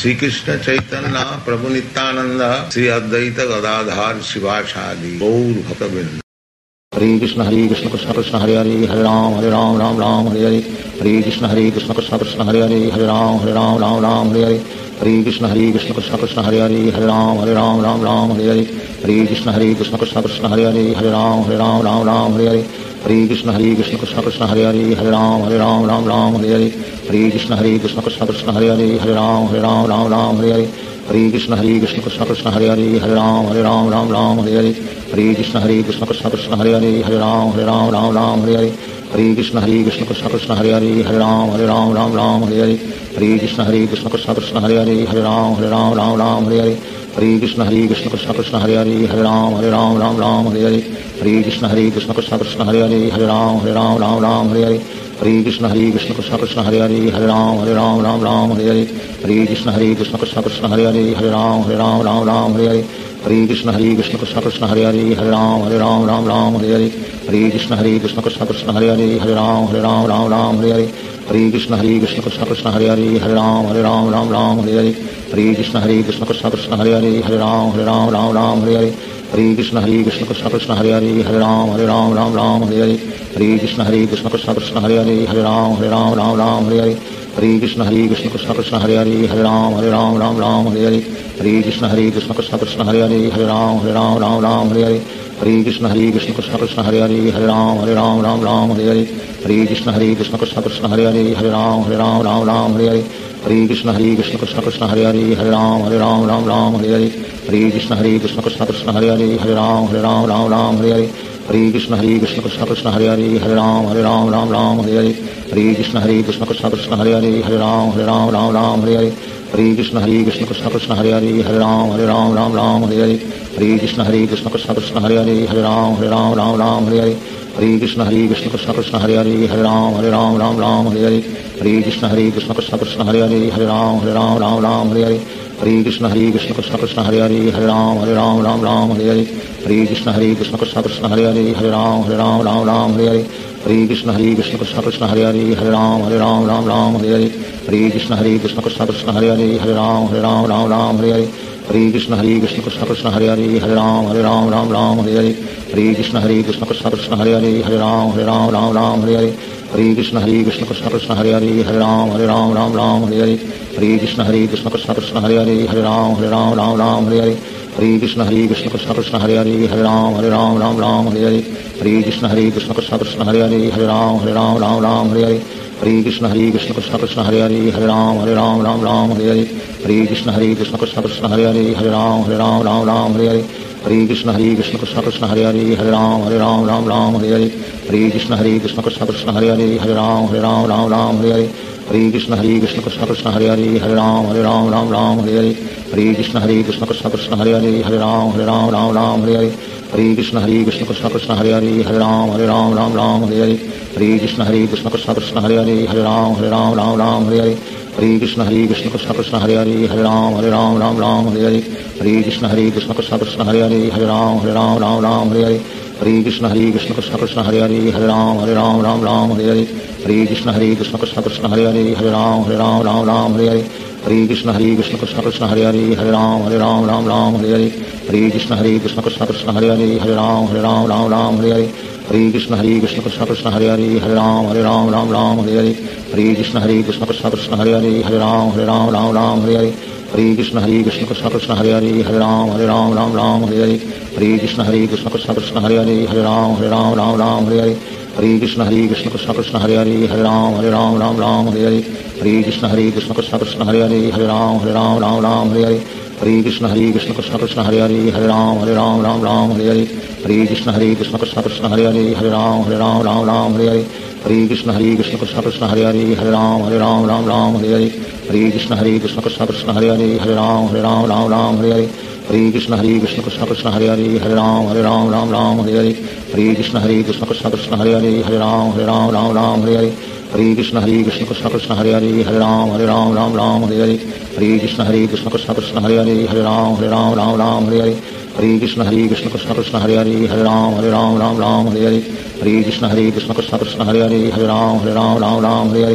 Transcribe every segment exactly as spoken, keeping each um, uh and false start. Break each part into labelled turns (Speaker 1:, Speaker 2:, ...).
Speaker 1: Shri Krishna Chaitanya Prabhu Nityanand Shri Advaita Gadadhar शिवासादि Gaur भक्तवृंद। Hare Krishna Hare Krishna Krishna Krishna Hare Hare Hare Ram Hare Ram Ram Ram Hare Hare. Hare Krishna Hare Krishna Krishna Krishna Hare Hare Hare Ram Hare Ram Ram Ram Hare Hare. Hare Krishna Hare Krishna Krishna Krishna Hare Hare Hare Ram Hare Ram Ram Ram Hare Hare. Hare Krishna Hare Krishna Krishna Krishna Hare Hare Hare Ram Hare Ram Ram Ram Hare Hare. Hare Krishna Hare Krishna Krishna Krishna Hare Hare Hare Ram Hare Ram Ram Ram Hare Hare. Hare Krishna Hare Krishna Krishna Krishna Hare Hare Hare Ram Hare Ram Ram Ram Hare Hare. Hare Krishna Hare Krishna Krishna Krishna Hare Hare Hare Ram Hare Ram Ram Ram Hare Hare. Hare Krishna Hare Krishna Krishna Krishna Hare Hare Hare Ram Hare Ram Ram Ram Hare Hare. Hare Krishna Hare Krishna Krishna Krishna Hare Hare Hare Ram Hare Ram Ram Ram Hare Hare. Hare Krishna Hare Krishna Krishna Krishna Hare Hare Hare Ram Hare Ram Ram Ram Hare Hare. Hare Krishna Hare Krishna Krishna Krishna Hare Hare Hare Ram Hare Ram Ram Ram Hare Hare. Hare Krishna Hare Krishna Krishna Krishna Hare Hare Hare Ram Hare Ram Ram Ram Hare Hare. Hare Krishna Hare Krishna Krishna Krishna Hare Hare Hare Ram Hare Ram Ram Ram Hare Hare. Hare Krishna Hare Krishna Krishna Krishna Hare Hare Hare Ram Hare Ram Ram Ram Hare Hare. Hare Krishna Hare Krishna Krishna Krishna Hare Hare Hare Ram Hare Ram Ram Ram Hare Hare. Hare Krishna Hare Krishna Krishna Krishna Hare Hare Hare Ram Hare Ram Ram Ram Hare Hare. Hare Krishna Hare Krishna Krishna Krishna Hare Hare Hare Ram Hare Ram Ram Ram Hare Hare. Hare Krishna Hare Krishna Krishna Krishna Hare Hare Hare Ram Hare Ram Ram Ram Hare Hare. Hare Krishna Hare Krishna Krishna Krishna Hare Hare Hare Ram Hare Ram Ram Ram Hare Hare. Hare Krishna Hare Krishna Krishna Krishna Hare Hare Hare Ram Hare Ram Ram Ram Hare Hare. Hare Krishna Hare Krishna Krishna Krishna Hare Hare Hare Ram Hare Ram Ram Ram Hare Hare. Hare Krishna Hare Krishna Krishna Krishna Hare Hare Hare Ram Hare Ram Ram Ram Hare Hare. Hare Krishna Hare Krishna Krishna Krishna Hare Hare Hare Ram Hare Ram Ram Ram Hare Hare. Hare Krishna Hare Krishna Krishna Krishna Hare Hare Hare Ram Hare Ram Ram Ram Hare Hare. Hare Krishna Hare Krishna Krishna Krishna Hare Hare Hare Ram Hare Ram Ram Ram Hare Hare. Hare Krishna Hare Krishna Krishna Krishna Hare Hare Hare Ram Hare Ram Ram Ram Hare Hare. Hare Krishna Hare Krishna Krishna Krishna Hare Hare Hare Ram Hare Ram Ram Ram Hare Hare. Hare Krishna Hare Krishna Krishna Krishna Hare Hare Hare Ram Hare Ram Ram Ram Hare Hare. Hare Krishna Hare Krishna Krishna Krishna Hare Hare Hare Ram Hare Ram Ram Ram Hare Hare. Hare Krishna Hare Krishna Krishna Krishna Hare Hare Hare Ram Hare Ram Ram Ram Hare Hare. Hare Krishna Hare Krishna Krishna Krishna Hare Hare Hare Ram Hare Ram Ram Ram Hare Hare. Hare Krishna Hare Krishna Krishna Krishna Hare Hare Hare Ram Hare Ram Ram Ram Hare Hare. Hare Krishna Hare Krishna Krishna Krishna Hare Hare Hare Ram Hare Ram Ram Ram Hare Hare. Hare Krishna Hare Krishna Krishna Krishna Hare Hare Hare Ram Hare Ram Ram Ram Hare Hare. Hare Krishna Hare Krishna Krishna Krishna Hare Hare Hare Ram Hare Ram Ram Ram Hare Hare. Hare Krishna Hare Krishna Krishna Krishna Hare Hare Hare Ram Hare Ram Ram Ram Hare Hare. Hare Krishna Hare Krishna Krishna Krishna Hare Hare Hare Ram Hare Ram Ram Ram Hare Hare. Hare Krishna Hare Krishna Krishna Krishna Hare Hare Hare Ram Hare Ram Ram Ram Hare Hare. Hare Krishna Hare Krishna Krishna Krishna Hare Hare Hare Ram Hare Ram Ram Ram Hare Hare. Hare Krishna Hare Krishna Krishna Krishna Hare Hare Hare Ram Hare Ram Ram Ram Hare Hare. Hare Krishna Hare Krishna Krishna Krishna Hare Hare Hare Ram Hare Ram Ram Ram Hare Hare. Hare Krishna Hare Krishna Krishna Krishna Hare Hare Hare Ram Hare Ram Ram Ram Hare Hare. Hare Krishna Hare Krishna Krishna Krishna Hare Hare Hare Ram Hare Ram Ram Ram Hare Hare. Hare Krishna Hare Krishna Krishna Krishna Hare Hare Hare Ram Hare Ram Ram Ram Hare Hare. Hare Krishna Hare Krishna Krishna Krishna Hare Hare Hare Ram Hare Ram Ram Ram Hare Hare. Hare Krishna Hare Krishna Krishna Krishna Hare Hare Hare Ram Hare Ram Ram Ram Hare Hare. Hare Krishna Hare Krishna Krishna Krishna Hare Hare Hare Ram Hare Ram Ram Ram Hare Hare. Hare Krishna Hare Krishna Krishna Krishna Hare Hare Hare Ram Hare Ram Ram Ram Hare Hare. Hare Krishna Hare Krishna Krishna Krishna Hare Hare Hare Ram Hare Ram Ram Ram Hare Hare. Hare Krishna Hare Krishna Krishna Krishna Hare Hare Hare Ram Hare Ram Ram Ram Hare Hare. Hare Krishna Hare Krishna Krishna Krishna Hare Hare Hare Ram Hare Ram Ram Ram Hare Hare. Hare Krishna Hare Krishna Krishna Krishna Hare Hare Hare Ram Hare Ram Ram Ram Hare Hare. Hare Krishna Hare Krishna Krishna Krishna Hare Hare Hare Ram Hare Ram Ram Ram Hare Hare. Hare Krishna Hare Krishna Krishna Krishna Hare Hare Hare Ram Hare Ram Ram Ram Hare Hare. Hare Krishna Hare Krishna Krishna Krishna Hare Hare Hare Ram Hare Ram Ram Ram Hare Hare. Hare Krishna Hare Krishna Krishna Krishna Hare Hare Hare Ram Hare Ram Ram Ram Hare Hare. Hare Krishna Hare Krishna Krishna Krishna Hare Hare Hare Ram Hare Ram Ram Ram Hare Hare. Hare Krishna Hare Krishna Krishna Krishna Hare Hare Hare Ram Hare Ram Ram Ram Hare Hare. Hare Krishna Hare Krishna Krishna Krishna Hare Hare Hare Ram Hare Ram Ram Ram Hare Hare. Hare Krishna Hare Krishna Krishna Krishna Hare Hare Hare Ram Hare Ram Ram Ram Hare Hare. Hare Krishna Hare Krishna Krishna Krishna Hare Hare Hare Ram Hare Ram Ram Ram Hare Hare. Hare Krishna Hare Krishna Krishna Krishna Hare Hare Hare Ram Hare Ram Ram Ram Hare Hare. Hare Krishna Hare Krishna Krishna Krishna Hare Hare Hare Ram Hare Ram Ram Ram Hare Hare. Hare Krishna Hare Krishna Krishna Krishna Hare Hare Hare Ram Hare Ram Ram Ram Hare Hare. Hare Krishna Hare Krishna Krishna Krishna Hare Hare Hare Ram Hare Ram Ram Ram Hare Hare. Hare Krishna Hare Krishna Krishna Krishna Hare Hare Hare Ram Hare Ram Ram Ram Hare Hare. Hare Krishna Hare Krishna Krishna Krishna Hare Hare Hare Ram Hare Ram Ram Ram Hare Hare. Hare Krishna Hare Krishna Krishna Krishna Hare Hare Hare Ram Hare Ram Ram Ram Hare Hare. Hare Krishna Hare Krishna Krishna Krishna Hare Hare Hare Ram Hare Ram Ram Ram Hare Hare. Hare Krishna Hare Krishna Krishna Krishna Hare Hare Hare Ram Hare Ram Ram Ram Hare Hare. Hare Krishna Hare Krishna Krishna Krishna Hare Hare Hare Ram Hare Ram Ram Ram Hare Hare. Hare Krishna Hare Krishna Krishna Krishna Hare Hare Hare Ram Hare Ram Ram Ram Hare Hare.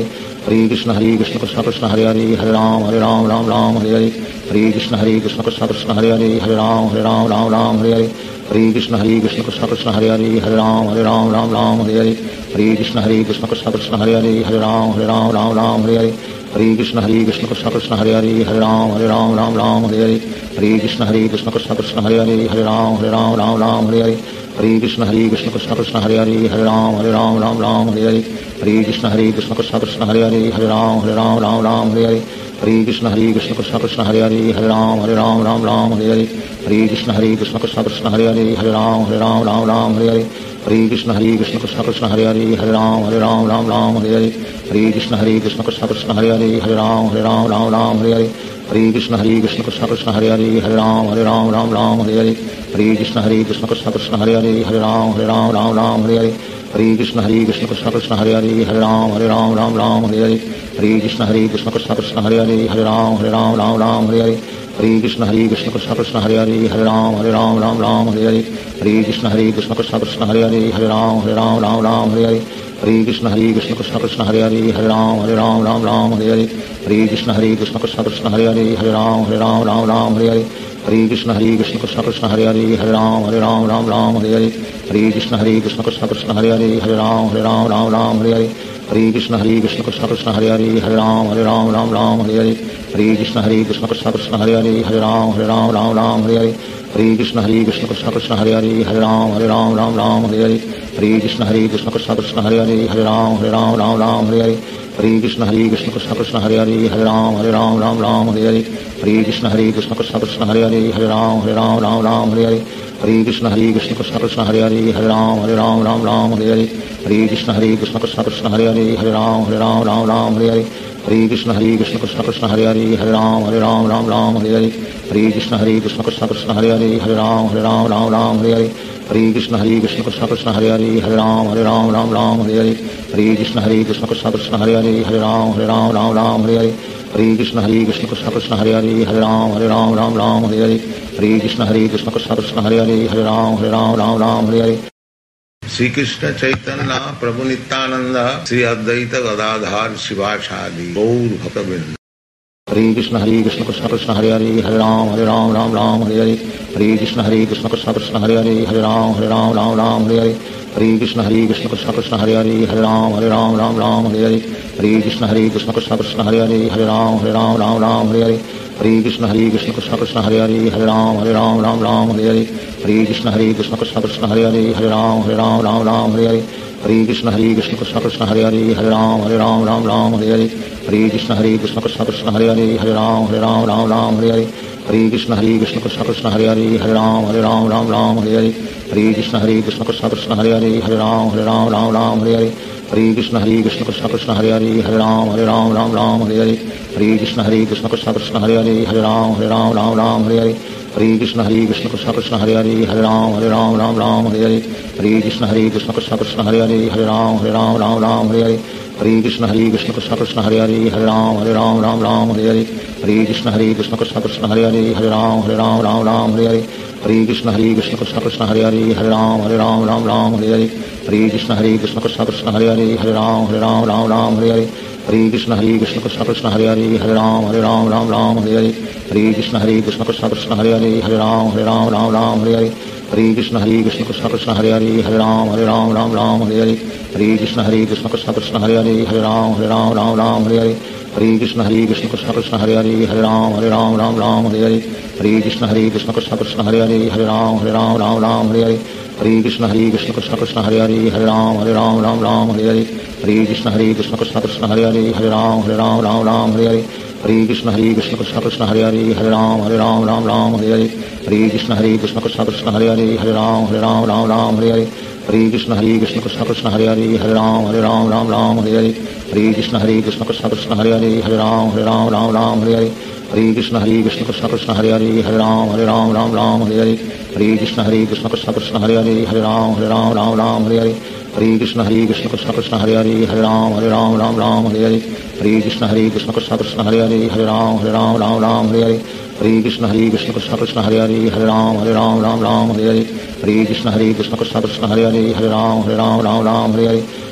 Speaker 1: Hare Krishna Hare Krishna Krishna Krishna Hare Hare Hare Ram Hare Ram Ram Ram Hare Hare Hare Krishna Hare Krishna Krishna Krishna Hare Hare Hare Ram Hare Ram Ram Ram Hare Hare Hare Krishna Hare Krishna Krishna Krishna Hare Hare Hare Ram Hare Ram Ram Ram Hare Hare Hare Krishna Hare Krishna Krishna Krishna Hare Hare Hare Ram Hare Ram Ram Ram Hare Hare Hare Krishna Hare Krishna Krishna Krishna Hare Hare Hare Ram Hare Ram Ram Ram Hare Hare Hare Krishna Hare Krishna Krishna Krishna Hare Hare Hare Ram Hare Ram Ram Ram Hare Hare Hare Krishna Hare Krishna Krishna Krishna Hare Hare Hare Ram Hare Ram Ram Ram Hare Hare Hare Krishna Hare Krishna Krishna Krishna Hare Hare Hare Ram Hare Ram Ram Ram Hare Hare Hare Krishna Hare Krishna Krishna Krishna Hare Hare Hare Ram Hare Ram Ram Ram Hare Hare Hare Krishna Hare Krishna Krishna Krishna Hare Hare Hare Ram Hare Ram Ram Ram Hare Hare Hare Krishna Hare Krishna Krishna Krishna Hare Hare Hare Ram Hare Ram Ram Ram Hare Hare Hare Krishna Hare Krishna Krishna Krishna Hare Hare Hare Ram Hare Ram Ram Ram Hare Hare Hare Krishna Hare Krishna Krishna Krishna Hare Hare Hare Ram Hare Ram Ram Ram Hare Hare Hare Krishna Hare Krishna Krishna Krishna Hare Hare Hare Ram Hare Ram Ram Ram Hare Hare Hare Krishna Hare Krishna Krishna Krishna Hare Hare Hare Ram Hare Ram Ram Ram Hare Hare Hare Krishna Hare Krishna Krishna Krishna Hare Hare Hare Ram Hare Ram Ram Ram Hare Hare Hare Krishna Hare Krishna Krishna Krishna Hare Hare Hare Ram Hare Ram Ram Ram Hare Hare Hare Krishna Hare Krishna Krishna Krishna Hare Hare Hare Ram Hare Ram Ram Ram Hare Hare Hare Krishna Hare Krishna Krishna Krishna Hare Hare Hare Ram Hare Ram Ram Ram Hare Hare Hare Krishna Hare Krishna Krishna Krishna Hare Hare Hare Ram Hare Ram Ram Ram Hare Hare Hare Krishna Hare Krishna Krishna Krishna Hare Hare Hare Ram Hare Ram Ram Ram Hare Hare Hare Krishna Hare Krishna Krishna Krishna Hare Hare Hare Ram Hare Ram Ram Ram Hare Hare Hare Krishna Hare Krishna Krishna Krishna Hare Hare Hare Ram Hare Ram Ram Ram Hare Hare Hare Krishna Hare Krishna Krishna Krishna Hare Hare Hare Ram Hare Ram Ram Ram Hare Hare Hare Krishna Hare Krishna Krishna Krishna Hare Hare Hare Ram Hare Ram Ram Ram Hare Hare Hare Krishna Hare Krishna Krishna Krishna Hare Hare Hare Ram Hare Ram Ram Ram Hare Hare Hare Krishna Hare Krishna Krishna Krishna Hare Hare Hare Ram Hare Ram Ram Ram Hare Hare Hare Krishna Hare Krishna Krishna Krishna Hare Hare Hare Ram Hare Ram Ram Ram Hare Hare Hare Krishna Hare Krishna Krishna Krishna Hare Hare Hare Ram Hare Ram Ram Ram Hare Hare Hare Krishna Hare Krishna Krishna Krishna Hare Hare Hare Ram Hare Ram Ram Ram Hare Hare Hare Krishna Hare Krishna Krishna Krishna Hare Hare Hare Ram Hare Ram Ram Ram Hare Hare Hare Krishna Hare Krishna Krishna Krishna Hare Hare Hare Ram Hare Ram Ram Ram Hare Hare Hare Krishna Hare Krishna Krishna Krishna Hare Hare Hare Ram Hare Ram Ram Ram Hare Hare Hare Krishna Hare Krishna Krishna Krishna Hare Hare Hare Ram Hare Ram Ram Ram Hare Hare Hare Krishna Hare Krishna Krishna Krishna Hare Hare Hare Ram Hare Ram Ram Ram Hare Hare Hare Krishna Hare Krishna Krishna Krishna Hare Hare Hare Ram Hare Ram Ram Ram Hare Hare Shri Krishna Chaitanya Prabhu Nityananda Shri Advaita Gadadhar Shivasadi Gaur Bhakta Hare Krishna Hare Krishna Krishna Krishna Hare Hare Hare Ram Hare Ram Ram Ram Hare Hare Hare Krishna Hare Krishna Krishna Krishna Hare Hare Hare Ram Hare Ram Ram Ram Hare Hare Hare Krishna Hare Krishna Krishna Krishna Hare Hare Hare Ram Hare Ram Ram Ram Hare Hare Hare Krishna Hare Krishna Krishna Krishna Hare Hare Hare Ram Hare Ram Ram Ram Hare Hare Hare Krishna Hare Krishna Krishna Krishna Hare Hare Hare Ram Hare Ram Ram Ram Hare Hare Hare Krishna Hare Krishna Krishna Krishna Hare Hare Hare Ram Hare Ram Ram Ram Hare Hare Hare Krishna Hare Krishna Krishna Krishna Hare Hare Hare Ram Hare Ram Ram Ram Hare Hare Hare Krishna Hare Krishna Krishna Krishna Hare Hare Hare Ram Hare Ram Ram Ram Hare Hare Hare Krishna Hare Krishna Krishna Krishna Hare Hare Hare Ram Hare Ram Ram Ram Hare Hare Hare Krishna Hare Krishna Krishna Krishna Hare Hare Hare Ram Hare Ram Ram Ram Hare Hare Hare Krishna Hare Krishna Krishna Krishna Hare Hare Hare Ram Hare Ram Ram Ram Hare Hare Hare Krishna Hare Krishna Krishna Krishna Hare Hare Hare Ram Hare Ram Ram Ram Hare Hare Hare Krishna Hare Krishna Krishna Krishna Hare Hare Hare Ram Hare Ram Ram Ram Hare Hare Hare Krishna Hare Krishna Krishna Krishna Hare Hare Hare Ram Hare Ram Ram Ram Hare Hare Hare Krishna Hare Krishna Krishna Krishna Hare Hare Hare Ram Hare Ram Ram Ram Hare Hare Hare Krishna Hare Krishna Krishna Krishna Hare Hare Hare Ram Hare Ram Ram Ram Hare Hare Hare Krishna Hare Krishna Krishna Krishna Hare Hare Hare Ram Hare Ram Ram Ram Hare Hare Hare Krishna Hare Krishna Krishna Krishna Hare Hare Hare Ram Hare Ram Ram Ram Hare Hare Hare Krishna Hare Krishna Krishna Krishna Hare Hare Hare Ram Hare Ram Ram Ram Hare Hare Hare Krishna Hare Krishna Krishna Krishna Hare Hare Hare Ram Hare Ram Ram Ram Hare Hare Hare Krishna Hare Krishna Krishna Krishna Hare Hare Hare Ram Hare Ram Ram Ram Hare Hare Hare Krishna Hare Krishna Krishna Krishna Hare Hare Hare Ram Hare Ram Ram Ram Hare Hare Hare Krishna Hare Krishna Krishna Krishna Hare Hare Hare Ram Hare Ram Ram Ram Hare Hare Hare Krishna Hare Krishna Krishna Krishna Hare Hare Hare Ram Hare Ram Ram Ram Hare Hare Hare Krishna Hare Krishna Krishna Krishna Hare Hare Hare Ram Hare Ram Ram Ram Hare Hare Hare Krishna Hare Krishna Krishna Krishna Hare Hare Hare Ram Hare Ram Ram Ram Hare Hare Hare Krishna Hare Krishna Krishna Krishna Hare Hare Hare Ram Hare Ram Ram Ram Hare Hare Hare Krishna Hare Krishna Krishna Krishna Hare Hare Hare Ram Hare Ram Ram Ram Hare Hare Hare Krishna Hare Krishna Krishna Krishna Hare Hare Hare Ram Hare Ram Ram Ram Hare Hare Hare Krishna Hare Krishna Krishna Krishna Hare Hare Hare Ram Hare Ram Ram Ram Hare Hare Hare Krishna Hare Krishna Krishna Krishna Hare Hare Hare Ram Hare Ram Ram Ram Hare Hare Hare Krishna Hare Krishna Krishna Krishna Hare Hare Hare Ram Hare Ram Ram Ram Hare Hare Hare Krishna Hare Krishna Krishna Krishna Hare Hare Hare Ram Hare Ram Ram Ram Hare Hare Hare Krishna Hare Krishna Krishna Krishna Hare Hare Hare Ram Hare Ram Ram Ram Hare Hare Hare Krishna Hare Krishna Krishna Krishna Hare Hare Hare Ram Hare Ram Ram Ram Hare Hare Hare Krishna Hare Krishna Krishna Krishna Hare Hare Hare Ram Hare Ram Ram Ram Hare Hare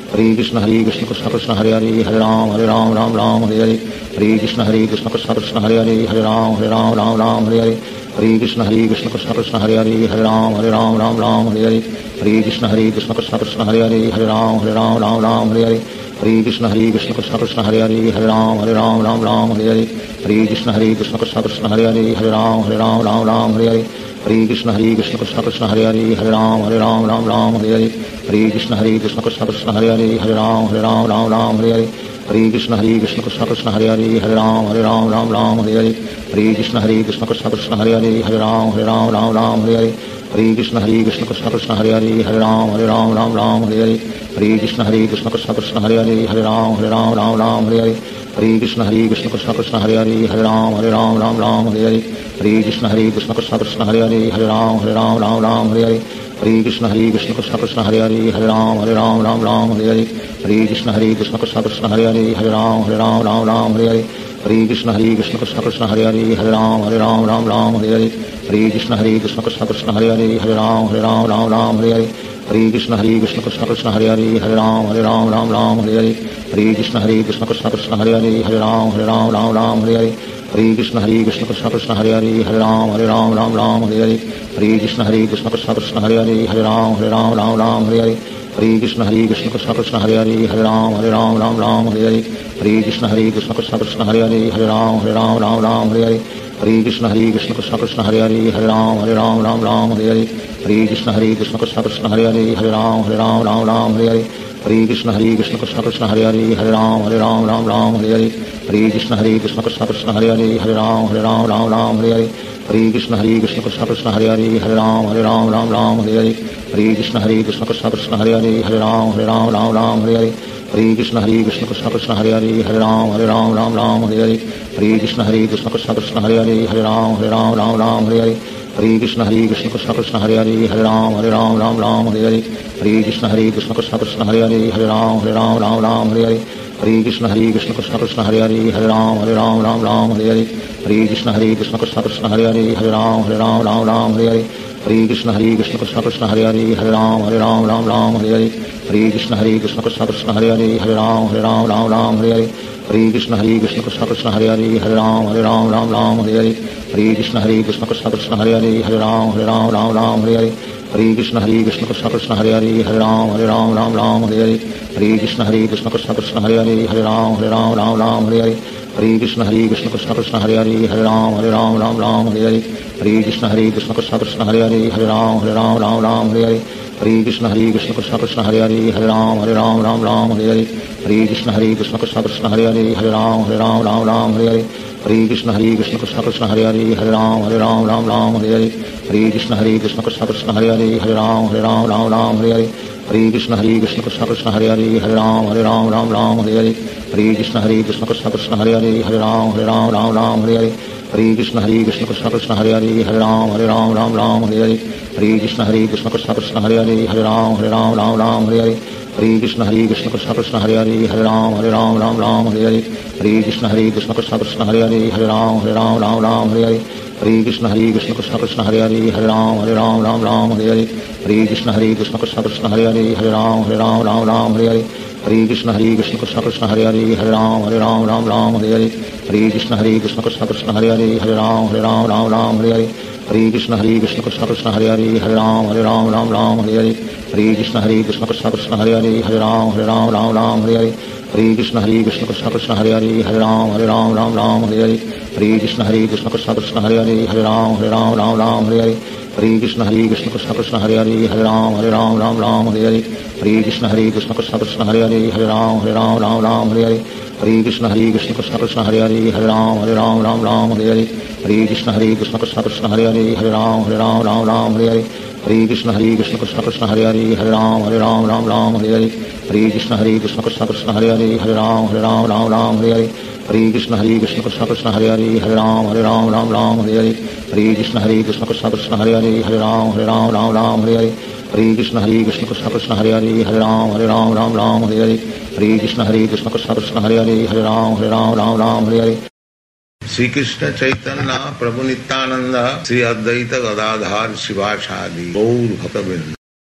Speaker 1: Hare Krishna Hare Krishna Krishna Krishna Hare Hare Hare Ram Hare Ram Ram Ram Hare Hare Hare Krishna Hare Krishna Krishna Krishna Hare Hare Hare Ram Hare Ram Ram Ram Hare Hare Hare Krishna Hare Krishna Krishna Krishna Hare Hare Hare Ram Hare Ram Ram Ram Hare Hare Hare Krishna Hare Krishna Krishna Krishna Hare Hare Hare Ram Hare Ram Ram Ram Hare Hare Hare Krishna Hare Krishna Krishna Krishna Hare Hare Hare Ram Hare Ram Ram Ram Hare Hare Hare Krishna Hare Krishna Krishna Krishna Hare Hare Hare Ram Hare Ram Ram Ram Hare Hare Hare Krishna Hare Krishna Krishna Krishna Hare Hare Hare Ram Hare Ram Ram Ram Hare Hare Hare Krishna Hare Krishna Krishna Krishna Hare Hare Hare Ram Hare Ram Ram Ram Hare Hare Hare Krishna Hare Krishna Krishna Krishna Hare Hare Hare Ram Hare Ram Ram Ram Hare Hare Hare Krishna Hare Krishna Krishna Krishna Hare Hare Hare Ram Hare Ram Ram Ram Hare Hare Hare Krishna Hare Krishna Krishna Krishna Hare Hare Hare Ram Hare Ram Ram Ram Hare Hare Hare Krishna Hare Krishna Krishna Krishna Hare Hare Hare Ram Hare Ram Ram Ram Hare Hare Hare Krishna Hare Krishna Krishna Krishna Hare Hare Hare Ram Hare Ram Ram Ram Hare Hare Hare Krishna Hare Krishna Krishna Krishna Hare Hare Hare Ram Hare Ram Ram Ram Hare Hare Hare Krishna Hare Krishna Krishna Krishna Hare Hare Hare Ram Hare Ram Ram Ram Hare Hare Hare Krishna Hare Krishna Krishna Krishna Hare Hare Hare Ram Hare Ram Ram Ram Hare Hare Hare Krishna Hare Krishna Krishna Krishna Hare Hare Hare Ram Hare Ram Ram Ram Hare Hare Hare Krishna Hare Krishna Krishna Krishna Hare Hare Hare Ram Hare Ram Ram Ram Hare Hare Hare Krishna Hare Krishna Krishna Krishna Hare Hare Hare Ram Hare Ram Ram Ram Hare Hare Hare Krishna Hare Krishna Krishna Krishna Hare Hare Hare Ram Hare Ram Ram Ram Hare Hare Hare Krishna Hare Krishna Krishna Krishna Hare Hare Hare Ram Hare Ram Ram Ram Hare Hare Hare Krishna Hare Krishna Krishna Krishna Hare Hare Hare Ram Hare Ram Ram Ram Hare Hare Hare Krishna Hare Krishna Krishna Krishna Hare Hare Hare Ram Hare Ram Ram Ram Hare Hare Hare Krishna Hare Krishna Krishna Krishna Hare Hare Hare Ram Hare Ram Ram Ram Hare Hare Hare Krishna Hare Krishna Krishna Krishna Hare Hare Hare Ram Hare Ram Ram Ram Hare Hare Hare Krishna Hare Krishna Krishna Krishna Hare Hare Hare Ram Hare Ram Ram Ram Hare Hare Hare Krishna Hare Krishna Krishna Krishna Hare Hare Hare Ram Hare Ram Ram Ram Hare Hare Hare Krishna Hare Krishna Krishna Krishna Hare Hare Hare Ram Hare Ram Ram Ram Hare Hare Hare Krishna Hare Krishna Krishna Krishna Hare Hare Hare Ram Hare Ram Ram Ram Hare Hare Hare Krishna Hare Krishna Krishna Krishna Hare Hare Hare Ram Hare Ram Ram Ram Hare Hare Hare Krishna Hare Krishna Krishna Krishna Hare Hare Hare Ram Hare Ram Ram Ram Hare Hare Hare Krishna Hare Krishna Krishna Krishna Hare Hare Hare Ram Hare Ram Ram Ram Hare Hare Hare Krishna Hare Krishna Krishna Krishna Hare Hare Hare Ram Hare Ram Ram Ram Hare Hare Hare Krishna Hare Krishna Krishna Krishna Hare Hare Hare Ram Hare Ram Ram Ram Hare Hare Hare Krishna Hare Krishna Krishna Krishna Hare Hare Hare Ram Hare Ram Ram Ram Hare Hare Hare Krishna Hare Krishna Krishna Krishna Hare Hare Hare Ram Hare Ram Ram Ram Hare Hare Hare Krishna Hare Krishna Krishna Krishna Hare Hare Hare Ram Hare Ram Ram Ram Hare Hare Hare Krishna Hare Krishna Krishna Krishna Hare Hare Hare Ram Hare Ram Ram Ram Hare Hare Hare Krishna Hare Krishna Krishna Krishna Hare Hare Hare Ram Hare Ram Ram Ram Hare Hare Hare Krishna Hare Krishna Krishna Krishna Hare Hare Hare Ram Hare Ram Ram Ram Hare Hare Hare Krishna Hare Krishna Krishna Krishna Hare Hare Hare Ram Hare Ram Ram Ram Hare Hare Hare Krishna Hare Krishna Krishna Krishna Hare Hare Hare Ram Hare Ram Ram Ram Hare Hare Hare Krishna Hare Krishna Krishna Krishna Hare Hare Hare Ram Hare Ram Ram Ram Hare Hare Hare Krishna Hare Krishna Krishna Krishna Hare Hare Hare Ram Hare Ram Ram Ram Hare Hare Hare Krishna Hare Krishna Krishna Krishna Hare Hare Hare Ram Hare Ram Ram Ram Hare Hare Hare Krishna Hare Krishna Krishna Krishna Hare Hare Hare Ram Hare Ram Ram Ram Hare Hare Hare Krishna Hare Krishna Krishna Krishna Hare Hare Hare Ram Hare Ram Ram Ram Hare Hare Hare Krishna Hare Krishna Krishna Krishna Hare Hare Hare Ram Hare Ram Ram Ram Hare Hare Hare Krishna Hare Krishna Krishna Krishna Hare Hare Hare Ram Hare Ram Ram Ram Hare Hare Hare Krishna Hare Krishna Krishna Krishna Hare Hare Hare Ram Hare Ram Ram Ram Hare Hare Hare Krishna Hare Krishna Krishna Krishna Hare Hare Hare Ram Hare Ram Ram Ram Hare Hare Hare Krishna Hare Krishna Krishna Krishna Hare Hare Hare Ram Hare Ram Ram Ram Hare Hare Hare Krishna Hare Krishna Krishna Krishna Hare Hare Hare Ram Hare Ram Ram Ram Hare Hare Hare Krishna Hare Krishna Krishna Krishna Hare Hare Hare Ram Hare Ram Ram Ram Hare Hare Hare Krishna Hare Krishna Krishna Krishna Hare Hare Hare Ram Hare Ram Ram Ram Hare Hare Hare Krishna Hare Krishna Krishna Krishna Hare Hare Hare Ram Hare Ram Ram Ram Hare Hare Hare Krishna Hare Krishna Krishna Krishna Hare Hare Hare Ram Hare Ram Ram Ram Hare Hare Hare Krishna Hare Krishna Krishna Krishna Hare Hare Hare Ram Hare Ram Ram Ram Hare Hare Hare Krishna Hare Krishna Krishna Krishna Hare Hare Hare Ram Hare Ram Ram Ram Hare Hare Hare Krishna Hare Krishna Krishna Krishna Hare Hare Hare Ram Hare Ram Ram Ram Hare Hare Hare Krishna Hare Krishna Krishna Krishna Hare Hare Hare Ram Hare Ram Ram Ram Hare Hare Hare Krishna Hare Krishna Krishna Krishna Hare Hare Hare Ram Hare Ram Ram Ram Hare Hare Hare Krishna Hare Krishna Krishna Krishna Hare Hare Hare Ram Hare Ram Ram Ram Hare Hare Hare Krishna Hare Krishna Krishna Krishna Hare Hare Hare Ram Hare Ram Ram Ram Hare Hare Hare Krishna Hare Krishna Krishna Krishna Hare Hare Hare Ram Hare Ram Ram Ram Hare Hare Hare Krishna Hare Krishna Krishna Krishna Hare Hare Hare Ram Hare Ram Ram Ram Hare Hare Hare Krishna Hare Krishna Krishna Krishna Hare Hare Hare Ram Hare Ram Ram Ram Hare Hare Hare Krishna Hare Krishna Krishna Krishna Hare Hare Hare Ram Hare Ram Ram Ram Hare Hare Hare Krishna Hare Krishna Krishna Krishna Hare Hare Hare Ram Hare Ram Ram Ram Hare Hare Hare Krishna Hare Krishna Krishna Krishna Hare Hare Hare Ram Hare Ram Ram Ram Hare Hare Hare Krishna Hare Krishna Krishna Krishna Hare Hare Hare Ram Hare Ram Ram Ram Hare Hare Hare Krishna Hare Krishna Krishna Krishna Hare Hare Hare Ram Hare Ram Ram Ram Hare Hare. Shri Krishna Chaitanya Prabhu Nityanand Shri Advaita Gadadhar शिवासादि Gaur भक्तवृंद।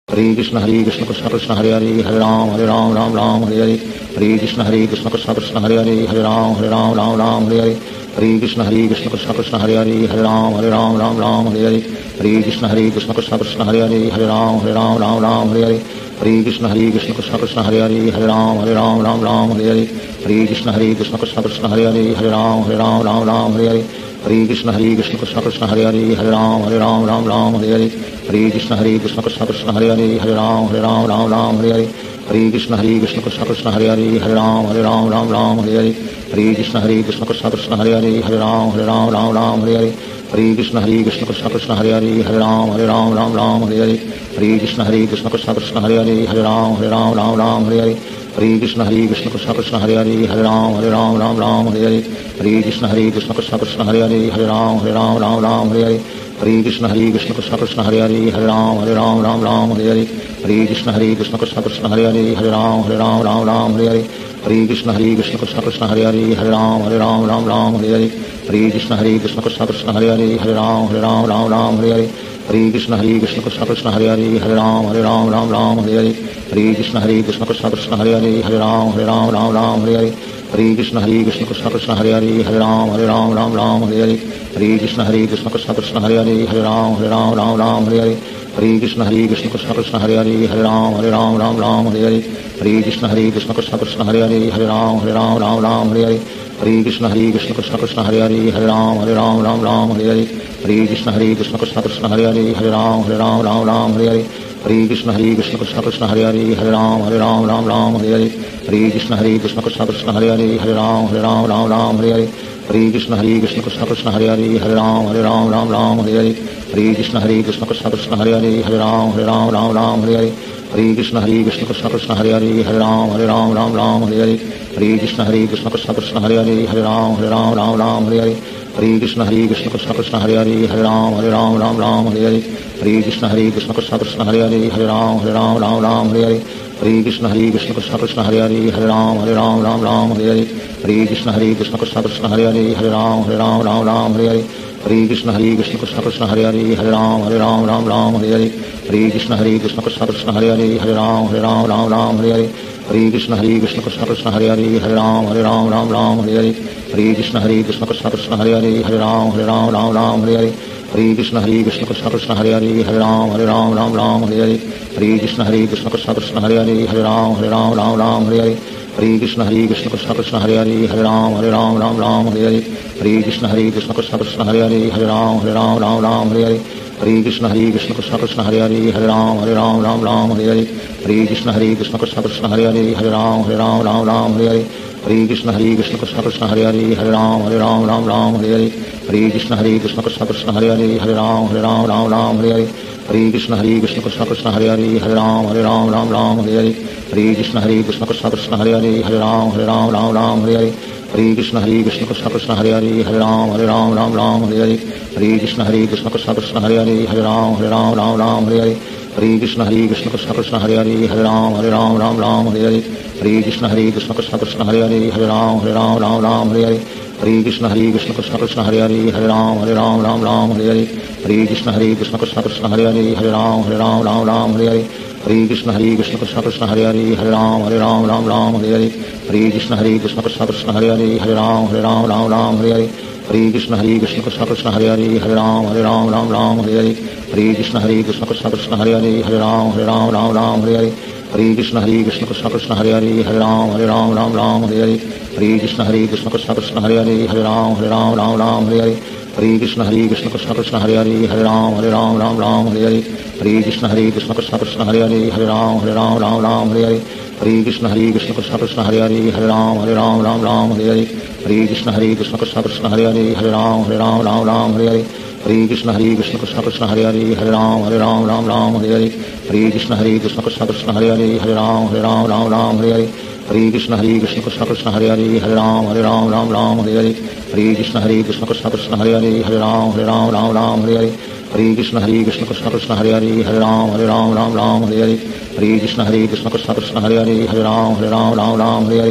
Speaker 1: Hare Krishna Hare Krishna Krishna Krishna Hare Hare Hare Ram Hare Ram Ram Ram Hare Hare Hare Krishna Hare Krishna Krishna Krishna Hare Hare Hare Ram Hare Ram Ram Ram Hare Hare Hare Krishna Hare Krishna Krishna Krishna Hare Hare Hare Ram Hare Ram Ram Ram Hare Hare Hare Krishna Hare Krishna Krishna Krishna Hare Hare Hare Ram Hare Ram Ram Ram Hare Hare Hare Krishna Hare Krishna Krishna Krishna Hare Hare Hare Ram Hare Ram Ram Ram Hare Hare Hare Krishna Hare Krishna Krishna Krishna Hare Hare Hare Ram Hare Ram Ram Ram Hare Hare Hare Krishna Hare Krishna Krishna Krishna Hare Hare Hare Ram Hare Ram Ram Ram Hare Hare Hare Krishna Hare Krishna Krishna Krishna Hare Hare Hare Ram Hare Ram Ram Ram Hare Hare Hare Krishna Hare Krishna Krishna Krishna Hare Hare Hare Ram Hare Ram Ram Ram Hare Hare Hare Krishna Hare Krishna Krishna Krishna Hare Hare Hare Ram Hare Ram Ram Ram Hare Hare Hare Krishna Hare Krishna Krishna Krishna Hare Hare Hare Ram Hare Ram Ram Ram Hare Hare Hare Krishna Hare Krishna Krishna Krishna Hare Hare Hare Ram Hare Ram Ram Ram Hare Hare Hare Krishna Hare Krishna Krishna Krishna Hare Hare Hare Ram Hare Ram Ram Ram Hare Hare Hare Krishna Hare Krishna Krishna Krishna Hare Hare Hare Ram Hare Ram Ram Ram Hare Hare Hare Krishna Hare Krishna Krishna Krishna Hare Hare Hare Ram Hare Ram Ram Ram Hare Hare Hare Krishna Hare Krishna Krishna Krishna Hare Hare Hare Ram Hare Ram Ram Ram Hare Hare Hare Krishna Hare Krishna Krishna Krishna Hare Hare Hare Ram Hare Ram Ram Ram Hare Hare Hare Krishna Hare Krishna Krishna Krishna Hare Hare Hare Ram Hare Ram Ram Ram Hare Hare Hare Krishna Hare Krishna Krishna Krishna Hare Hare Hare Ram Hare Ram Ram Ram Hare Hare Hare Krishna Hare Krishna Krishna Krishna Hare Hare Hare Ram Hare Ram Ram Ram Hare Hare Hare Krishna Hare Krishna Krishna Krishna Hare Hare Hare Ram Hare Ram Ram Ram Hare Hare Hare Krishna Hare Krishna Krishna Krishna Hare Hare Hare Ram Hare Ram Ram Ram Hare Hare Hare Krishna Hare Krishna Krishna Krishna Hare Hare Hare Ram Hare Ram Ram Ram Hare Hare Hare Krishna Hare Krishna Krishna Krishna Hare Hare Hare Ram Hare Ram Ram Ram Hare Hare Hare Krishna Hare Krishna Krishna Krishna Hare Hare Hare Ram Hare Ram Ram Ram Hare Hare Hare Krishna Hare Krishna Krishna Krishna Hare Hare Hare Ram Hare Ram Ram Ram Hare Hare Hare Krishna Hare Krishna Krishna Krishna Hare Hare Hare Ram Hare Ram Ram Ram Hare Hare Hare Krishna Hare Krishna Krishna Krishna Hare Hare Hare Ram Hare Ram Ram Ram Hare Hare Hare Krishna Hare Krishna Krishna Krishna Hare Hare Hare Ram Hare Ram Ram Ram Hare Hare Hare Krishna Hare Krishna Krishna Krishna Hare Hare Hare Ram Hare Ram Ram Ram Hare Hare Hare Krishna Hare Krishna Krishna Krishna Hare Hare Hare Ram Hare Ram Ram Ram Hare Hare Hare Krishna Hare Krishna Krishna Krishna Hare Hare Hare Ram Hare Ram Ram Ram Hare Hare Hare Krishna Hare Krishna Krishna Krishna Hare Hare Hare Ram Hare Ram Ram Ram Hare Hare Hare Krishna Hare Krishna Krishna Krishna Hare Hare Hare Ram Hare Ram Ram Ram Hare Hare Hare Krishna Hare Krishna Krishna Krishna Hare Hare Hare Ram Hare Ram Ram Ram Hare Hare Hare Krishna Hare Krishna Krishna Krishna Hare Hare Hare Ram Hare Ram Ram Ram Hare Hare Hare Krishna Hare Krishna Krishna Krishna Hare Hare Hare Ram Hare Ram Ram Ram Hare Hare Hare Krishna Hare Krishna Krishna Krishna Hare Hare Hare Ram Hare Ram Ram Ram Hare Hare Hare Krishna Hare Krishna Krishna Krishna Hare Hare Hare Ram Hare Ram Ram Ram Hare Hare Hare Krishna Hare Krishna Krishna Krishna Hare Hare Hare Ram Hare Ram Ram Ram Hare Hare Hare Krishna Hare Krishna Krishna Krishna Hare Hare Hare Ram Hare Ram Ram Ram Hare Hare Hare Krishna Hare Krishna Krishna Krishna Hare Hare Hare Ram Hare Ram Ram Ram Hare Hare Hare Krishna Hare Krishna Krishna Krishna Hare Hare Hare Ram Hare Ram Ram Ram Hare Hare Hare Krishna Hare Krishna Krishna Krishna Hare Hare Hare Ram Hare Ram Ram Ram Hare Hare Hare Krishna Hare Krishna Krishna Krishna Hare Hare Hare Ram Hare Ram Ram Ram Hare Hare Hare Krishna Hare Krishna Krishna Krishna Hare Hare Hare Ram Hare Ram Ram Ram Hare Hare Hare Krishna Hare Krishna Krishna Krishna Hare Hare Hare Ram Hare Ram Ram Ram Hare Hare Hare Krishna Hare Krishna Krishna Krishna Hare Hare Hare Ram Hare Ram Ram Ram Hare Hare Hare Krishna Hare Krishna Krishna Krishna Hare Hare Hare Ram Hare Ram Ram Ram Hare Hare Hare Krishna Hare Krishna Krishna Krishna Hare Hare Hare Ram Hare Ram Ram Ram Hare Hare Hare Krishna Hare Krishna Krishna Krishna Hare Hare Hare Ram Hare Ram Ram Ram Hare Hare Hare Krishna Hare Krishna Krishna Krishna Hare Hare Hare Ram Hare Ram Ram Ram Hare Hare Hare Krishna Hare Krishna Krishna Krishna Hare Hare Hare Ram Hare Ram Ram Ram Hare Hare Hare Krishna Hare Krishna Krishna Krishna Hare Hare Hare Ram Hare Ram Ram Ram Hare Hare Hare Krishna Hare Krishna Krishna Krishna Hare Hare Hare Ram Hare Ram Ram Ram Hare Hare Hare Krishna Hare Krishna Krishna Krishna Hare Hare Hare Ram Hare Ram Ram Ram Hare Hare Hare Krishna Hare Krishna Krishna Krishna Hare Hare Hare Ram Hare Ram Ram Ram Hare Hare Hare Krishna Hare Krishna Krishna Krishna Hare Hare Hare Ram Hare Ram Ram Ram Hare Hare Hare Krishna Hare Krishna Krishna Krishna Hare Hare Hare Ram Hare Ram Ram Ram Hare Hare Hare Krishna Hare Krishna Krishna Krishna Hare Hare Hare Ram Hare Ram Ram Ram Hare Hare Hare Krishna Hare Krishna Krishna Krishna Hare Hare Hare Ram Hare Ram Ram Ram Hare Hare Hare Krishna Hare Krishna Krishna Krishna Hare Hare Hare Ram Hare Ram Ram Ram Hare Hare Hare Krishna Hare Krishna Krishna Krishna Hare Hare Hare Ram Hare Ram Ram Ram Hare Hare Hare Krishna Hare Krishna Krishna Krishna Hare Hare Hare Ram Hare Ram Ram Ram Hare Hare Hare Krishna Hare Krishna Krishna Krishna Hare Hare Hare Ram Hare Ram Ram Ram Hare Hare Hare Krishna Hare Krishna Krishna Krishna Hare Hare Hare Ram Hare Ram Ram Ram Hare Hare Hare Krishna Hare Krishna Krishna Krishna Hare Hare Hare Ram Hare Ram Ram Ram Hare Hare Hare Krishna Hare Krishna Krishna Krishna Hare Hare Hare Ram Hare Ram Ram Ram Hare Hare Hare Krishna Hare Krishna Krishna Krishna Hare Hare Hare Ram Hare Ram Ram Ram Hare Hare Hare Krishna Hare Krishna Krishna Krishna Hare Hare Hare Ram Hare Ram Ram Ram Hare Hare Hare Krishna Hare Krishna Krishna Krishna Hare Hare Hare Ram Hare Ram Ram Ram Hare Hare Hare Krishna Hare Krishna Krishna Krishna Hare Hare Hare Ram Hare Ram Ram Ram Hare Hare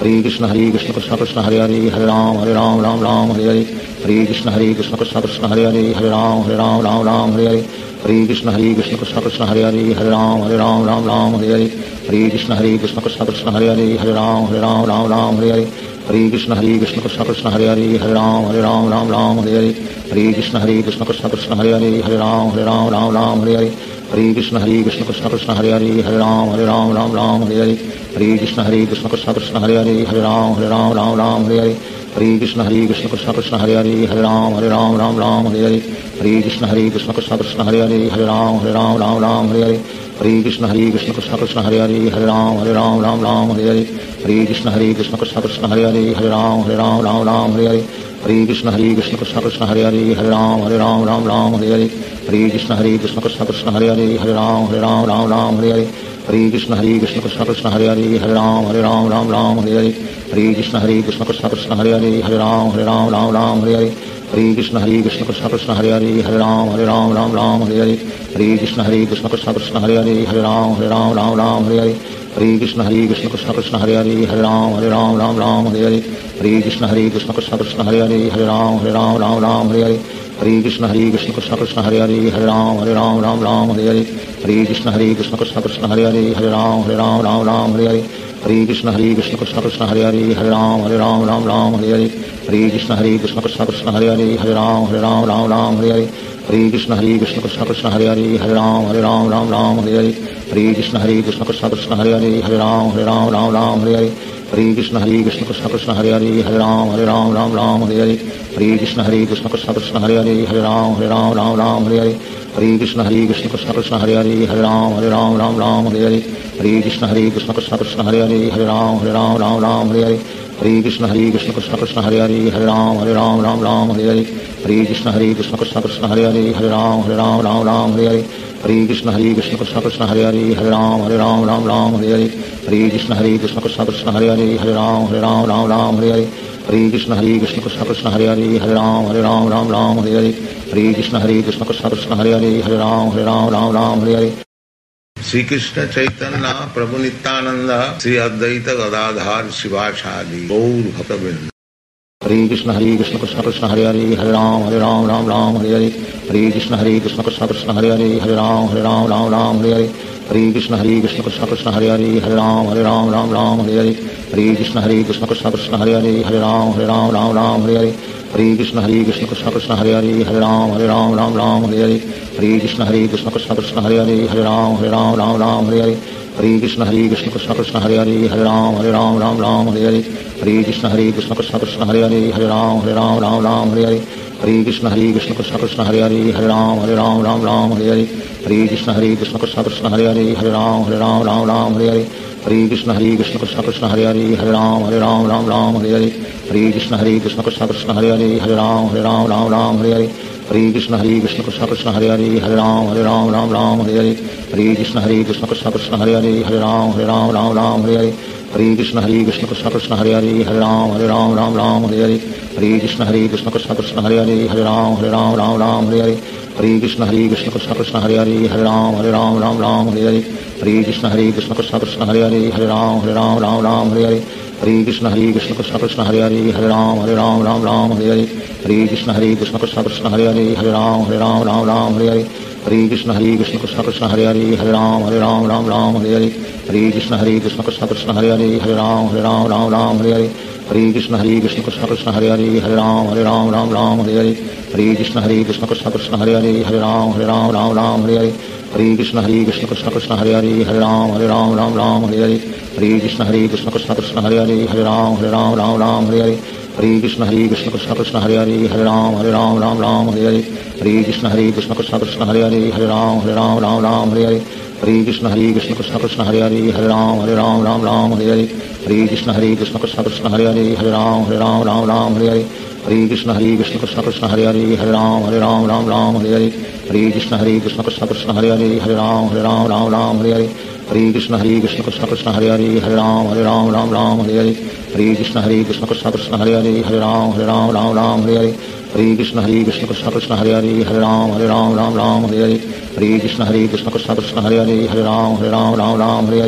Speaker 1: Hare Krishna Hare Krishna Krishna Krishna Hare Hare Hare Ram Hare Ram Ram Ram Hare Hare Hare Krishna Hare Krishna Krishna Krishna Hare Hare Hare Ram Hare Ram Ram Ram Hare Hare Hare Krishna Hare Krishna Krishna Krishna Hare Hare Hare Ram Hare Ram Ram Ram Hare Hare Hare Krishna Hare Krishna Krishna Krishna Hare Hare Hare Ram Hare Ram Ram Ram Hare Hare Hare Krishna Hare Krishna Krishna Krishna Hare Hare Hare Ram Hare Ram Ram Ram Hare Hare Hare Krishna Hare Krishna Krishna Krishna Hare Hare Hare Ram Hare Ram Ram Ram Hare Hare Hare Krishna Hare Krishna Krishna Krishna Hare Hare Hare Ram Hare Ram Ram Ram Hare Hare Hare Krishna Hare Krishna Krishna Krishna Hare Hare Hare Ram Hare Ram Ram Ram Hare Hare Hare Krishna Hare Krishna Krishna Krishna Hare Hare Hare Ram Hare Ram Ram Ram Hare Hare Hare Krishna Hare Krishna Krishna Krishna Hare Hare Hare Ram Hare Ram Ram Ram Hare Hare Hare Krishna Hare Krishna Krishna Krishna Hare Hare Hare Ram Hare Ram Ram Ram Hare Hare Hare Krishna Hare Krishna Krishna Krishna Hare Hare Hare Ram Hare Ram Ram Ram Hare Hare Hare Krishna Hare Krishna Krishna Krishna Hare Hare Hare Ram Hare Ram Ram Ram Hare Hare Hare Krishna Hare Krishna Krishna Krishna Hare Hare Hare Ram Hare Ram Ram Ram Hare Hare Hare Krishna Hare Krishna Krishna Krishna Hare Hare Hare Ram Hare Ram Ram Ram Hare Hare Hare Krishna Hare Krishna Krishna Krishna Hare Hare Hare Ram Hare Ram Ram Ram Hare Hare Hare Krishna Hare Krishna Krishna Krishna Hare Hare Hare Ram Hare Ram Ram Ram Hare Hare Hare Krishna Hare Krishna Krishna Krishna Hare Hare Hare Ram Hare Ram Ram Ram Hare Hare Hare Krishna Hare Krishna Krishna Krishna Hare Hare Hare Ram Hare Ram Ram Ram Hare Hare Hare Krishna Hare Krishna Krishna Krishna Hare Hare Hare Ram Hare Ram Ram Ram Hare Hare Hare Krishna Hare Krishna Krishna Krishna Hare Hare Hare Ram Hare Ram Ram Ram Hare Hare Hare Krishna Hare Krishna Krishna Krishna Hare Hare Hare Ram Hare Ram Ram Ram Hare Hare Hare Krishna Hare Krishna Krishna Krishna Hare Hare Hare Ram Hare Ram Ram Ram Hare Hare Hare Krishna Hare Krishna Krishna Krishna Hare Hare Hare Ram Hare Ram Ram Ram Hare Hare Hare Krishna Hare Krishna Krishna Krishna Hare Hare Hare Ram Hare Ram Ram Ram Hare Hare Hare Krishna Hare Krishna Krishna Krishna Hare Hare Hare Ram Hare Ram Ram Ram Hare Hare Hare Krishna Hare Krishna Krishna Krishna Hare Hare Hare Ram Hare Ram Ram Ram Hare Hare Hare Krishna Hare Krishna Krishna Krishna Hare Hare Hare Ram Hare Ram Ram Ram Hare Hare Hare Krishna Hare Krishna Krishna Krishna Hare Hare Hare Ram Hare Ram Ram Ram Hare Hare Hare Krishna Hare Krishna Krishna Krishna Hare Hare Hare Ram Hare Ram Ram Ram Hare Hare Hare Krishna Hare Krishna Krishna Krishna Hare Hare Hare Ram Hare Ram Ram Ram Hare Hare Hare Krishna Hare Krishna Krishna Krishna Hare Hare Hare Ram Hare Ram Ram Ram Hare Hare Hare Krishna Hare Krishna Krishna Krishna Hare Hare Hare Ram Hare Ram Ram Ram Hare Hare Hare Krishna Hare Krishna Krishna Krishna Hare Hare Hare Ram Hare Ram Ram Ram Hare Hare Hare Krishna Hare Krishna Krishna Krishna Hare Hare Hare Ram Hare Ram Ram Ram Hare Hare Hare Krishna Hare Krishna Krishna Krishna Hare Hare Hare Ram Hare Ram Ram Ram Hare Hare Shri Krishna Chaitanya Prabhu Nityananda Shri Advaita Gadadhar Shivasadi Gaur Bhakta Hare Krishna Hare Krishna Krishna Krishna Hare Hare Hare Ram Hare Ram Ram Ram Hare Hare Hare Krishna Hare Krishna Krishna Krishna Hare Hare Hare Ram Hare Ram Ram Ram Hare Hare Hare Krishna Hare Krishna Krishna Krishna Hare Hare Hare Ram Hare Ram Ram Ram Hare Hare Hare Krishna Hare Krishna Krishna Krishna Hare Hare Hare Ram Hare Ram Ram Ram Hare Hare Hare Krishna Hare Krishna Krishna Krishna Hare Hare Hare Ram Hare Ram Ram Ram Hare Hare Hare Krishna Hare Krishna Krishna Krishna Hare Hare Hare Ram Hare Ram Ram Ram Hare Hare Hare Krishna Hare Krishna Krishna Krishna Hare Hare Hare Ram Hare Ram Ram Ram Hare Hare Hare Krishna Hare Krishna Krishna Krishna Hare Hare Hare Ram Hare Ram Ram Ram Hare Hare Hare Krishna Hare Krishna Krishna Krishna Hare Hare Hare Ram Hare Ram Ram Ram Hare Hare Hare Krishna Hare Krishna Krishna Krishna Hare Hare Hare Ram Hare Ram Ram Ram Hare Hare Hare Krishna Hare Krishna Krishna Krishna Hare Hare Hare Ram Hare Ram Ram Ram Hare Hare Hare Krishna Hare Krishna Krishna Krishna Hare Hare Hare Ram Hare Ram Ram Ram Hare Hare Hare Krishna Hare Krishna Krishna Krishna Hare Hare Hare Ram Hare Ram Ram Ram Hare Hare Hare Krishna Hare Krishna Krishna Krishna Hare Hare Hare Ram Hare Ram Ram Ram Hare Hare Hare Krishna Hare Krishna Krishna Krishna Hare Hare Hare Ram Hare Ram Ram Ram Hare Hare Hare Krishna Hare Krishna Krishna Krishna Hare Hare Hare Ram Hare Ram Ram Ram Hare Hare Hare Krishna Hare Krishna Krishna Krishna Hare Hare Hare Ram Hare Ram Ram Ram Hare Hare Hare Krishna Hare Krishna Krishna Krishna Hare Hare Hare Ram Hare Ram Ram Ram Hare Hare Hare Krishna Hare Krishna Krishna Krishna Hare Hare Hare Ram Hare Ram Ram Ram Hare Hare Hare Krishna Hare Krishna Krishna Krishna Hare Hare Hare Ram Hare Ram Ram Ram Hare Hare Hare Krishna Hare Krishna Krishna Krishna Hare Hare Hare Ram Hare Ram Ram Ram Hare Hare Hare Krishna Hare Krishna Krishna Krishna Hare Hare Hare Ram Hare Ram Ram Ram Hare Hare Hare Krishna Hare Krishna Krishna Krishna Hare Hare Hare Ram Hare Ram Ram Ram Hare Hare Hare Krishna Hare Krishna Krishna Krishna Hare Hare Hare Ram Hare Ram Ram Ram Hare Hare Hare Krishna Hare Krishna Krishna Krishna Hare Hare Hare Ram Hare Ram Ram Ram Hare Hare Hare Krishna Hare Krishna Krishna Krishna Hare Hare Hare Ram Hare Ram Ram Ram Hare Hare Hare Krishna Hare Krishna Krishna Krishna Hare Hare Hare Ram Hare Ram Ram Ram Hare Hare Hare Krishna Hare Krishna Krishna Krishna Hare Hare Hare Ram Hare Ram Ram Ram Hare Hare Hare Krishna Hare Krishna Krishna Krishna Hare Hare Hare Ram Hare Ram Ram Ram Hare Hare Hare Krishna Hare Krishna Krishna Krishna Hare Hare Hare Ram Hare Ram Ram Ram Hare Hare Hare Krishna Hare Krishna Krishna Krishna Hare Hare Hare Ram Hare Ram Ram Ram Hare Hare Hare Krishna Hare Krishna Krishna Krishna Hare Hare Hare Ram Hare Ram Ram Ram Hare Hare Hare Krishna Hare Krishna Krishna Krishna Hare Hare Hare Ram Hare Ram Ram Ram Hare Hare Hare Krishna Hare Krishna Krishna Krishna Hare Hare Hare Ram Hare Ram Ram Ram Hare Hare Hare Krishna Hare Krishna Krishna Krishna Hare Hare Hare Ram Hare Ram Ram Ram Hare Hare Hare Krishna Hare Krishna Krishna Krishna Hare Hare Hare Ram Hare Ram Ram Ram Hare Hare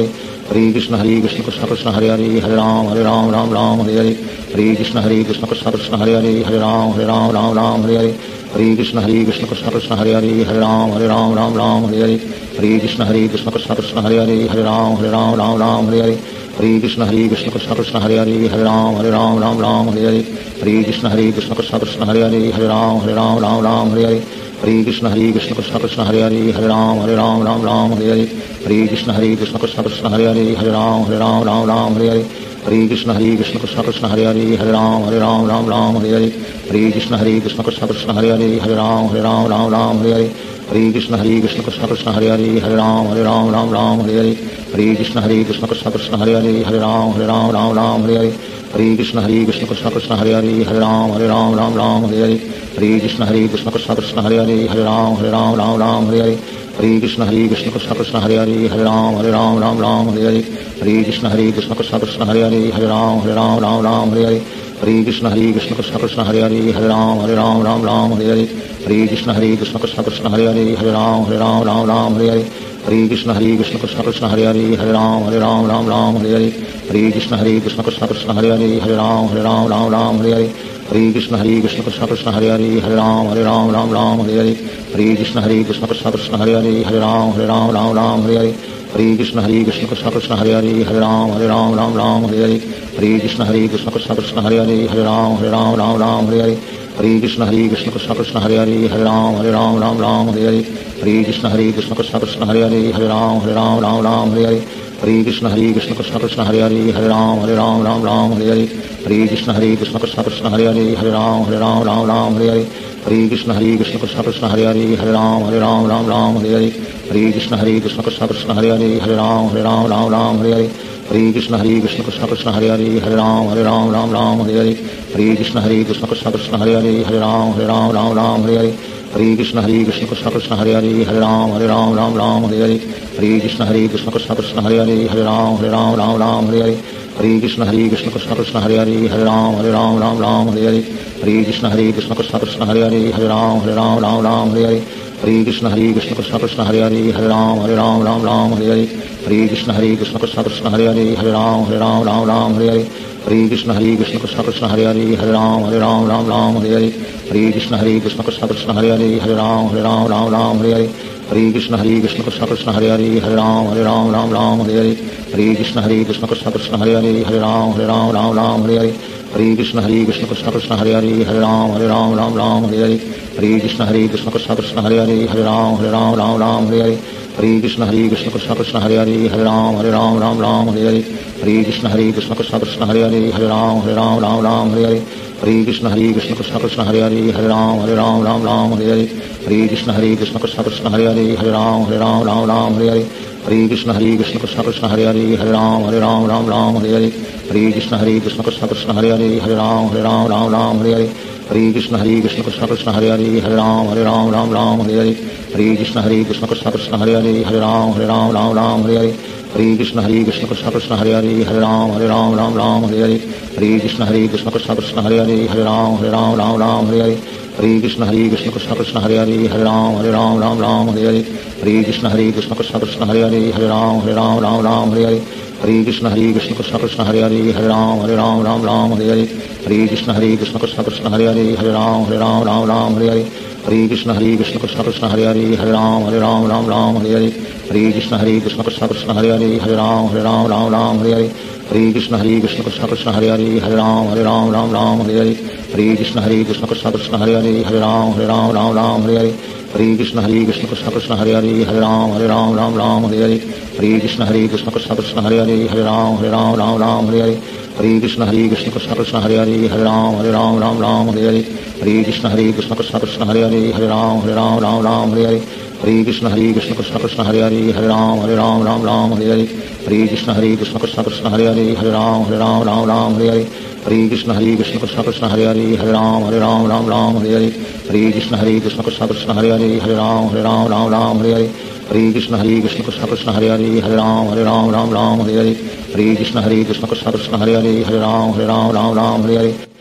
Speaker 1: Hare Krishna Hare Krishna Krishna Krishna Hare Hare Hare Ram Hare Ram Ram Ram Hare Hare Hare Krishna Hare Krishna Krishna Krishna Hare Hare Hare Ram Hare Ram Ram Ram Hare Hare Hare Krishna Hare Krishna Krishna Krishna Hare Hare Hare Ram Hare Ram Ram Ram Hare Hare Hare Krishna Hare Krishna Krishna Krishna Hare Hare Hare Ram Hare Ram Ram Ram Hare Hare Hare Krishna Hare Krishna Krishna Krishna Hare Hare Hare Ram Hare Ram Ram Ram Hare Hare Hare Krishna Hare Krishna Krishna Krishna Hare Hare Hare Ram Hare Ram Ram Ram Hare Hare Hare Krishna Hare Krishna Krishna Krishna Hare Hare Hare Ram Hare Ram Ram Ram Hare Hare Hare Krishna Hare Krishna Krishna Krishna Hare Hare Hare Ram Hare Ram Ram Ram Hare Hare Hare Krishna Hare Krishna Krishna Krishna Hare Hare Hare Ram Hare Ram Ram Ram Hare Hare Hare Krishna Hare Krishna Krishna Krishna Hare Hare Hare Ram Hare Ram Ram Ram Hare Hare Hare Krishna Hare Krishna Krishna Krishna Hare Hare Hare Ram Hare Ram Ram Ram Hare Hare Hare Krishna Hare Krishna Krishna Krishna Hare Hare Hare Ram Hare Ram Ram Ram Hare Hare Hare Krishna Hare Krishna Krishna Krishna Hare Hare Hare Ram Hare Ram Ram Ram Hare Hare Hare Krishna Hare Krishna Krishna Krishna Hare Hare Hare Ram Hare Ram Ram Ram Hare Hare Hare Krishna Hare Krishna Krishna Krishna Hare Hare Hare Ram Hare Ram Ram Ram Hare Hare Hare Krishna Hare Krishna Krishna Krishna Hare Hare Hare Ram Hare Ram Ram Ram Hare Hare Hare Krishna Hare Krishna Krishna Krishna Hare Hare Hare Ram Hare Ram Ram Ram Hare Hare Hare Krishna Hare Krishna Krishna Krishna Hare Hare Hare Ram Hare Ram Ram Ram Hare Hare Hare Krishna Hare Krishna Krishna Krishna Hare Hare Hare Ram Hare Ram Ram Ram Hare Hare Hare Krishna Hare Krishna Krishna Krishna Hare Hare Hare Ram Hare Ram Ram Ram Hare Hare Hare Krishna Hare Krishna Krishna Krishna Hare Hare Hare Ram Hare Ram Ram Ram Hare Hare Hare Krishna Hare Krishna Krishna Krishna Hare Hare Hare Ram Hare Ram Ram Ram Hare Hare Hare Krishna Hare Krishna Krishna Krishna Hare Hare Hare Ram Hare Ram Ram Ram Hare Hare Hare Krishna Hare Krishna Krishna Krishna Hare Hare Hare Ram Hare Ram Ram Ram Hare Hare Hare Krishna Hare Krishna Krishna Krishna Hare Hare Hare Ram Hare Ram Ram Ram Hare Hare Hare Krishna Hare Krishna Krishna Krishna Hare Hare Hare Ram Hare Ram Ram Ram Hare Hare Hare Krishna Hare Krishna Krishna Krishna Hare Hare Hare Ram Hare Ram Ram Ram Hare Hare Hare Krishna Hare Krishna Krishna Krishna Hare Hare Hare Ram Hare Ram Ram Ram Hare Hare Hare Krishna Hare Krishna Krishna Krishna Hare Hare Hare Ram Hare Ram Ram Ram Hare Hare Hare Krishna Hare Krishna Krishna Krishna Hare Hare Hare Ram Hare Ram Ram Ram Hare Hare Hare Krishna Hare Krishna Krishna Krishna Hare Hare Hare Ram Hare Ram Ram Ram Hare Hare Hare Krishna Hare Krishna Krishna Krishna Hare Hare Hare Ram Hare Ram Ram Ram Hare Hare Hare Krishna Hare Krishna Krishna Krishna Hare Hare Hare Ram Hare Ram Ram Ram Hare Hare Hare Krishna Hare Krishna Krishna Krishna Hare Hare Hare Ram Hare Ram Ram Ram Hare Hare Hare Krishna Hare Krishna Krishna Krishna Hare Hare Hare Ram Hare Ram Ram Ram Hare Hare Hare Krishna Hare Krishna Krishna Krishna Hare Hare Hare Ram Hare Ram Ram Ram Hare Hare Hare Krishna Hare Krishna Krishna Krishna Hare Hare Hare Ram Hare Ram Ram Ram Hare Hare Hare Krishna Hare Krishna Krishna Krishna Hare Hare Hare Ram Hare Ram Ram Ram Hare Hare Hare Krishna Hare Krishna Krishna Krishna Hare Hare Hare Ram Hare Ram Ram Ram Hare Hare Hare Krishna Hare Krishna Krishna Krishna Hare Hare Hare Ram Hare Ram Ram Ram Hare Hare Hare Krishna Hare Krishna Krishna Krishna Hare Hare Hare Ram Hare Ram Ram Ram Hare Hare Hare Krishna Hare Krishna Krishna Krishna Hare Hare Hare Ram Hare Ram Ram Ram Hare Hare Hare Krishna Hare Krishna Krishna Krishna Hare Hare Hare Ram Hare Ram Ram Ram Hare Hare Hare Krishna Hare Krishna Krishna Krishna Hare Hare Hare Ram Hare Ram Ram Ram Hare Hare Hare Krishna Hare Krishna Krishna Krishna Hare Hare Hare Ram Hare Ram Ram Ram Hare Hare Hare Krishna Hare Krishna Krishna Krishna Hare Hare Hare Ram Hare Ram Ram Ram Hare Hare Hare Krishna Hare Krishna Krishna Krishna Hare Hare Hare Ram Hare Ram Ram Ram Hare Hare Hare Krishna Hare Krishna Krishna Krishna Hare Hare Hare Ram Hare Ram Ram Ram Hare Hare Hare Krishna Hare Krishna Krishna Krishna Hare Hare Hare Ram Hare Ram Ram Ram Hare Hare Hare Krishna Hare Krishna Krishna Krishna Hare Hare Hare Ram Hare Ram Ram Ram Hare Hare Hare Krishna Hare Krishna Krishna Krishna Hare Hare Hare Ram Hare Ram Ram Ram Hare Hare Hare Krishna Hare Krishna Krishna Krishna Hare Hare Hare Ram Hare Ram Ram Ram Hare Hare Hare Krishna Hare Krishna Krishna Krishna Hare Hare Hare Ram Hare Ram Ram Ram Hare Hare Hare Krishna Hare Krishna Krishna Krishna Hare Hare Hare Ram Hare Ram Ram Ram Hare Hare Hare Krishna Hare Krishna Krishna Krishna Hare Hare Hare Ram Hare Ram Ram Ram Hare Hare Hare Krishna Hare Krishna Krishna Krishna Hare Hare Hare Ram Hare Ram Ram Ram Hare Hare Hare Krishna Hare Krishna Krishna Krishna Hare Hare Hare Ram Hare Ram Ram Ram Hare Hare Hare Krishna Hare Krishna Krishna Krishna Hare Hare Hare Ram Hare Ram Ram Ram Hare Hare Hare Krishna Hare Krishna Krishna Krishna Hare Hare Hare Ram Hare Ram Ram Ram Hare Hare Hare Krishna Hare Krishna Krishna Krishna Hare Hare Hare Ram Hare Ram Ram Ram Hare Hare Hare Krishna Hare Krishna Krishna Krishna Hare Hare Hare Ram Hare Ram Ram Ram Hare Hare Hare Krishna Hare Krishna Krishna Krishna Hare Hare Hare Ram Hare Ram Ram Ram Hare Hare Hare Krishna Hare Krishna Krishna Krishna Hare Hare Hare Ram Hare Ram Ram Ram Hare Hare Hare Krishna Hare Krishna Krishna Krishna Hare Hare Hare Ram Hare Ram Ram Ram Hare Hare Hare Krishna Hare Krishna Krishna Krishna Hare Hare Hare Ram Hare Ram Ram Ram Hare Hare Hare Krishna Hare Krishna Krishna Krishna Hare Hare Hare Ram Hare Ram Ram Ram Hare Hare Hare Krishna Hare Krishna Krishna Krishna Hare Hare Hare Ram Hare Ram Ram Ram Hare Hare Hare Krishna Hare Krishna Krishna Krishna Hare Hare Hare Ram Hare Ram Ram Ram Hare Hare Hare Krishna Hare Krishna Krishna Krishna Hare Hare Hare Ram Hare Ram Ram Ram Hare Hare Hare Krishna Hare Krishna Krishna Krishna Hare Hare Hare Ram Hare Ram Ram Ram Hare Hare Hare Krishna Hare Krishna Krishna Krishna Hare Hare Hare Ram Hare Ram Ram Ram Hare Hare Hare Krishna Hare Krishna Krishna Krishna Hare Hare Hare Ram Hare Ram Ram Ram Hare Hare